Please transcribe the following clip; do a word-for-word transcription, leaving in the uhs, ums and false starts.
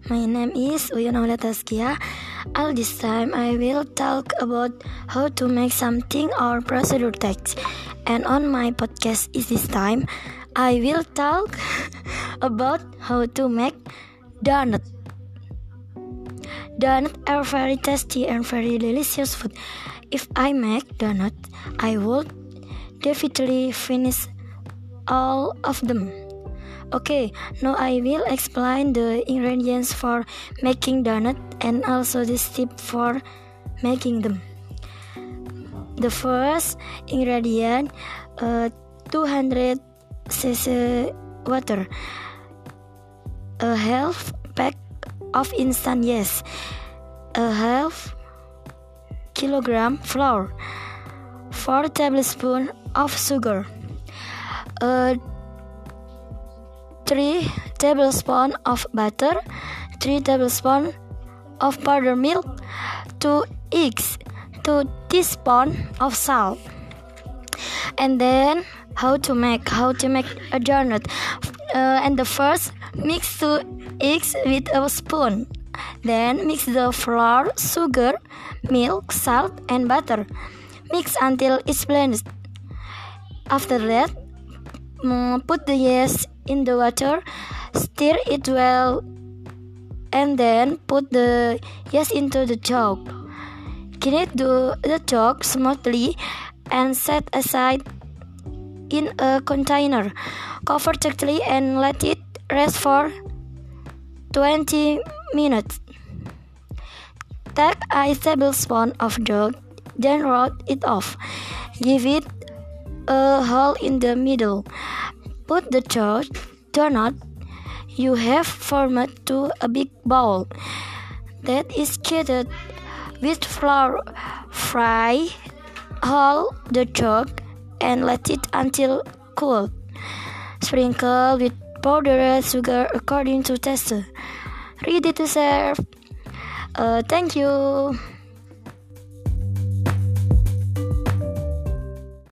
My name is Uyun Aulia Taskia. All this time I will talk about how to make something or procedure text. And on my podcast is this time I will talk about how to make donut. Donut are very tasty and very delicious food. If I make donut, I would definitely finish all of them. Okay, now I will explain the ingredients for making donut and also the step for making them. The first ingredient, uh, two hundred cc water, a half pack of instant yeast, a half kilogram flour, four tablespoons of sugar, a three tablespoons of butter, three tablespoons of powdered milk, two eggs, two teaspoons of salt. And then how to make how to make a donut. Uh, and the first, mix two eggs with a spoon. Then mix the flour, sugar, milk, salt, and butter. Mix until it's blended. After that, um, put the yeast in the water, stir it well, and then put the yeast into the jug. Knead the, the jug smoothly and set aside in a container. Cover tightly and let it rest for twenty minutes. Take a tablespoon of dough, then roll it off. Give it a hole in the middle. Put the dough donut you have formed to a big bowl that is coated with flour. Fry all the dough and let it until cool. Sprinkle with powdered sugar according to taste. Ready to serve. Uh, thank you.